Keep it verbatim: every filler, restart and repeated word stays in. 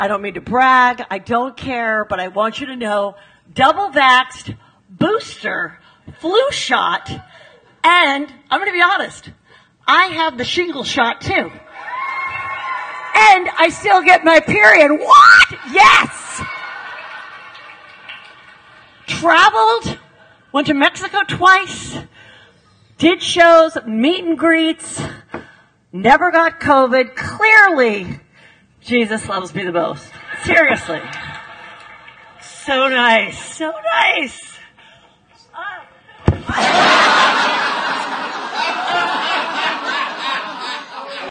I don't mean to brag. I don't care, but I want you to know, double vaxxed, booster, flu shot, and I'm going to be honest, I have the shingle shot too. And I still get my period. What? Yes! Traveled, went to Mexico twice, did shows, meet and greets, never got COVID. Clearly, Jesus loves me the most. Seriously. So nice. So nice.